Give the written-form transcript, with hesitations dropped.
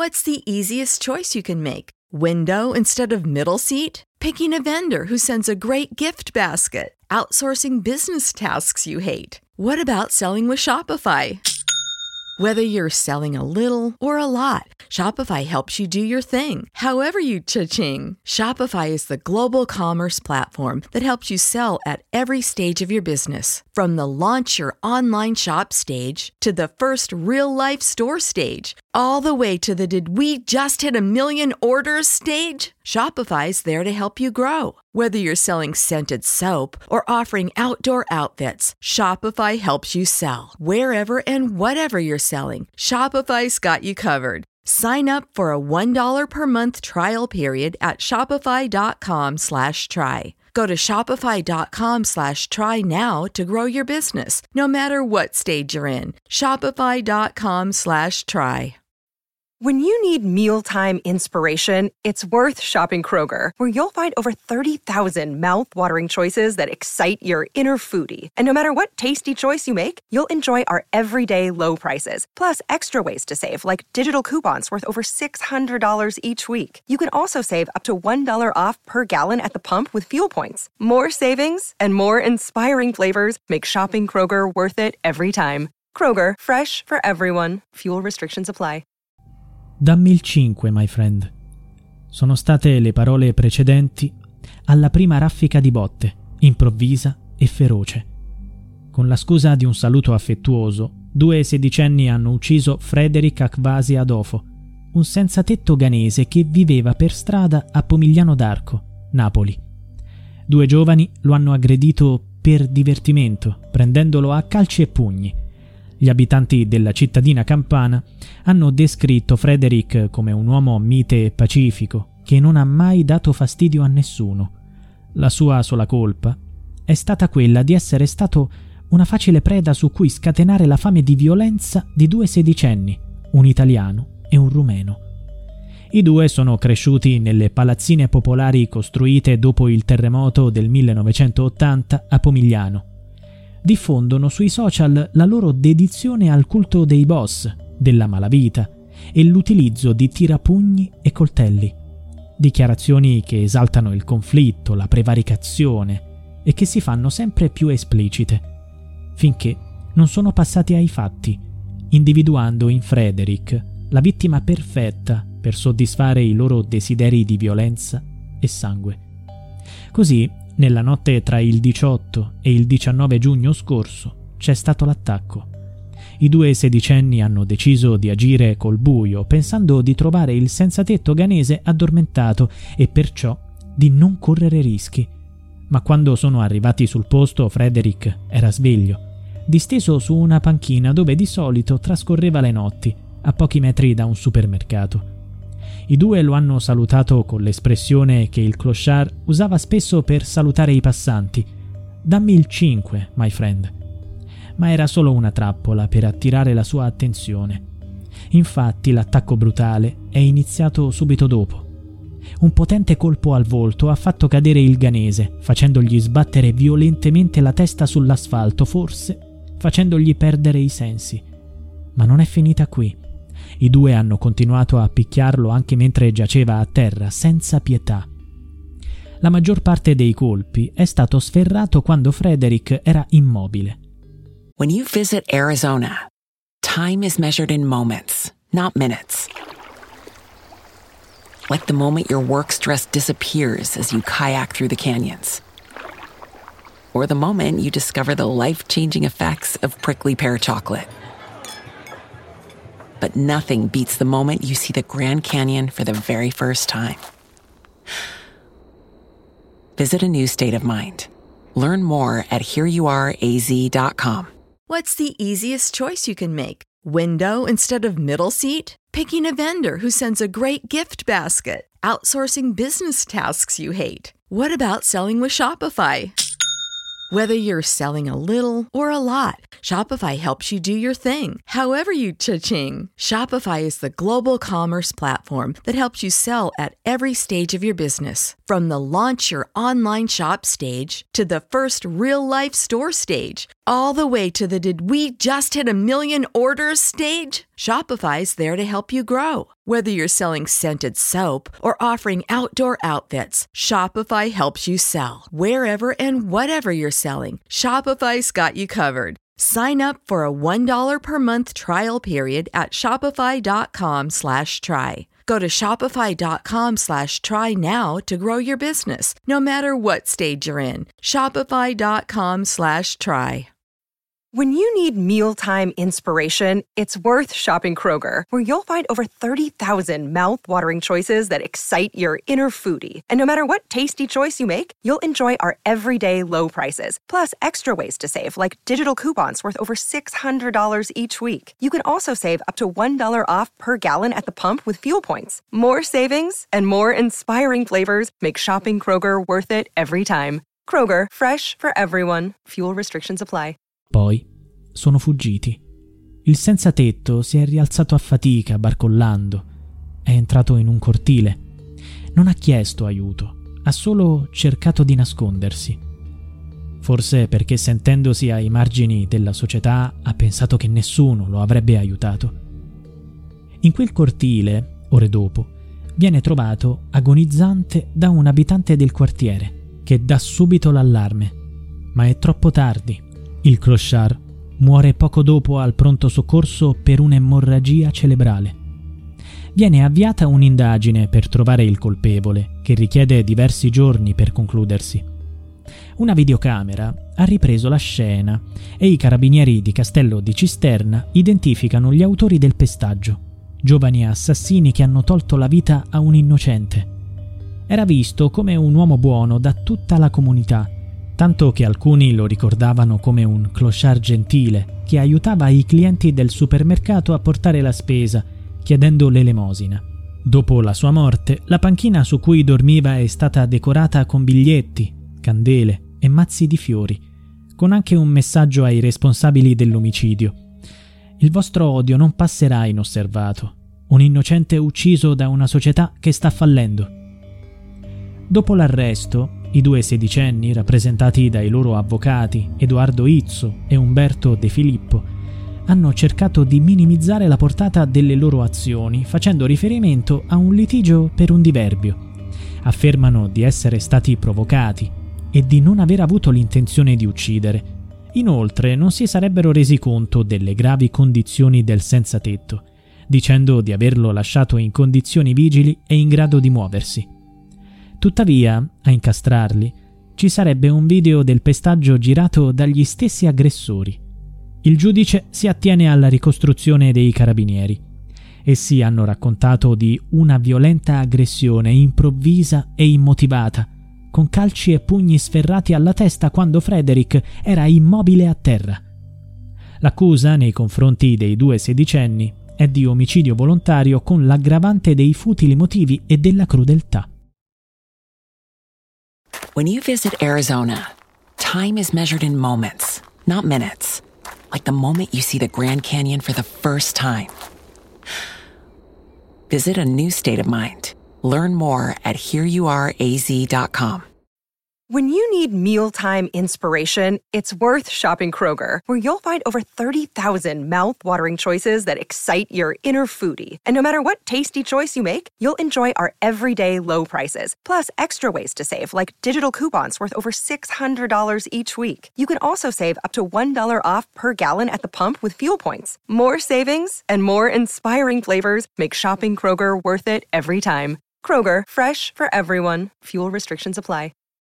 What's the easiest choice you can make? Window instead of middle seat? Picking a vendor who sends a great gift basket? Outsourcing business tasks you hate? What about selling with Shopify? Whether you're selling a little or a lot, Shopify helps you do your thing, however you cha-ching. Shopify is the global commerce platform that helps you sell at every stage of your business. From the launch your online shop stage to the first real-life store stage, all the way to the did we just hit a million orders stage. Shopify's there to help you grow. Whether you're selling scented soap or offering outdoor outfits, Shopify helps you sell. Wherever and whatever you're selling, Shopify's got you covered. Sign up for a $1 per month trial period at shopify.com/try. Go to shopify.com/try now to grow your business, no matter what stage you're in. Shopify.com/try. When you need mealtime inspiration, it's worth shopping Kroger, where you'll find over 30,000 mouth-watering choices that excite your inner foodie. And no matter what tasty choice you make, you'll enjoy our everyday low prices, plus extra ways to save, like digital coupons worth over $600 each week. You can also save up to $1 off per gallon at the pump with fuel points. More savings and more inspiring flavors make shopping Kroger worth it every time. Kroger, fresh for everyone. Fuel restrictions apply. Dammi il 5, my friend. Sono state le parole precedenti alla prima raffica di botte, improvvisa e feroce. Con la scusa di un saluto affettuoso, 2 sedicenni hanno ucciso Frederick Akvasi Adofo, un senzatetto ghanese che viveva per strada a Pomigliano d'Arco, Napoli. 2 giovani lo hanno aggredito per divertimento, prendendolo a calci e pugni. Gli abitanti della cittadina campana hanno descritto Frederick come un uomo mite e pacifico che non ha mai dato fastidio a nessuno. La sua sola colpa è stata quella di essere stato una facile preda su cui scatenare la fame di violenza di 2 sedicenni, un italiano e un rumeno. I 2 sono cresciuti nelle palazzine popolari costruite dopo il terremoto del 1980 a Pomigliano. Diffondono sui social la loro dedizione al culto dei boss, della malavita e l'utilizzo di tirapugni e coltelli. Dichiarazioni che esaltano il conflitto, la prevaricazione e che si fanno sempre più esplicite, finché non sono passati ai fatti, individuando in Frederick la vittima perfetta per soddisfare i loro desideri di violenza e sangue. Così, nella notte tra il 18 e il 19 giugno scorso c'è stato l'attacco. I 2 sedicenni hanno deciso di agire col buio, pensando di trovare il senzatetto ghanese addormentato e perciò di non correre rischi. Ma quando sono arrivati sul posto, Frederick era sveglio, disteso su una panchina dove di solito trascorreva le notti, a pochi metri da un supermercato. I 2 lo hanno salutato con l'espressione che il clochard usava spesso per salutare i passanti. Dammi il 5, my friend. Ma era solo una trappola per attirare la sua attenzione. Infatti l'attacco brutale è iniziato subito dopo. Un potente colpo al volto ha fatto cadere il ghanese, facendogli sbattere violentemente la testa sull'asfalto, forse facendogli perdere i sensi. Ma non è finita qui. I 2 hanno continuato a picchiarlo anche mentre giaceva a terra, senza pietà. La maggior parte dei colpi è stato sferrato quando Frederick era immobile. When you visit Arizona, time is measured in moments, not minutes. Like the moment your work stress disappears as you kayak through the canyons. Or the moment you discover the life-changing effects of prickly pear chocolate. But nothing beats the moment you see the Grand Canyon for the very first time. Visit a new state of mind. Learn more at hereyouareaz.com. What's the easiest choice you can make? Window instead of middle seat? Picking a vendor who sends a great gift basket? Outsourcing business tasks you hate? What about selling with Shopify? Whether you're selling a little or a lot, Shopify helps you do your thing, however you cha-ching. Shopify is the global commerce platform that helps you sell at every stage of your business. From the launch your online shop stage to the first real-life store stage, all the way to the did we just hit a million orders stage. Shopify's there to help you grow. Whether you're selling scented soap or offering outdoor outfits, Shopify helps you sell. Wherever and whatever you're selling, Shopify's got you covered. Sign up for a $1 per month trial period at shopify.com/try. Go to shopify.com/try now to grow your business, no matter what stage you're in. Shopify.com/try. When you need mealtime inspiration, it's worth shopping Kroger, where you'll find over 30,000 mouth-watering choices that excite your inner foodie. And no matter what tasty choice you make, you'll enjoy our everyday low prices, plus extra ways to save, like digital coupons worth over $600 each week. You can also save up to $1 off per gallon at the pump with fuel points. More savings and more inspiring flavors make shopping Kroger worth it every time. Kroger, fresh for everyone. Fuel restrictions apply. Poi sono fuggiti. Il senza tetto si è rialzato a fatica, barcollando. È entrato in un cortile. Non ha chiesto aiuto, ha solo cercato di nascondersi. Forse perché, sentendosi ai margini della società, ha pensato che nessuno lo avrebbe aiutato. In quel cortile, ore dopo, viene trovato agonizzante da un abitante del quartiere, che dà subito l'allarme. Ma è troppo tardi. Il clochard muore poco dopo al pronto soccorso per un'emorragia cerebrale. Viene avviata un'indagine per trovare il colpevole, che richiede diversi giorni per concludersi. Una videocamera ha ripreso la scena e i carabinieri di Castello di Cisterna identificano gli autori del pestaggio, giovani assassini che hanno tolto la vita a un innocente. Era visto come un uomo buono da tutta la comunità, tanto che alcuni lo ricordavano come un clochard gentile che aiutava i clienti del supermercato a portare la spesa, chiedendo l'elemosina. Dopo la sua morte, la panchina su cui dormiva è stata decorata con biglietti, candele e mazzi di fiori, con anche un messaggio ai responsabili dell'omicidio. Il vostro odio non passerà inosservato. Un innocente ucciso da una società che sta fallendo. Dopo l'arresto, i due sedicenni, rappresentati dai loro avvocati Edoardo Izzo e Umberto De Filippo, hanno cercato di minimizzare la portata delle loro azioni facendo riferimento a un litigio per un diverbio. Affermano di essere stati provocati e di non aver avuto l'intenzione di uccidere. Inoltre non si sarebbero resi conto delle gravi condizioni del senza tetto, dicendo di averlo lasciato in condizioni vigili e in grado di muoversi. Tuttavia, a incastrarli, ci sarebbe un video del pestaggio girato dagli stessi aggressori. Il giudice si attiene alla ricostruzione dei carabinieri. Essi hanno raccontato di una violenta aggressione improvvisa e immotivata, con calci e pugni sferrati alla testa quando Frederick era immobile a terra. L'accusa nei confronti dei due sedicenni è di omicidio volontario con l'aggravante dei futili motivi e della crudeltà. When you visit Arizona, time is measured in moments, not minutes. Like the moment you see the Grand Canyon for the first time. Visit a new state of mind. Learn more at hereyouareaz.com. When you need mealtime inspiration, it's worth shopping Kroger, where you'll find over 30,000 mouth-watering choices that excite your inner foodie. And no matter what tasty choice you make, you'll enjoy our everyday low prices, plus extra ways to save, like digital coupons worth over $600 each week. You can also save up to $1 off per gallon at the pump with fuel points. More savings and more inspiring flavors make shopping Kroger worth it every time. Kroger, fresh for everyone. Fuel restrictions apply.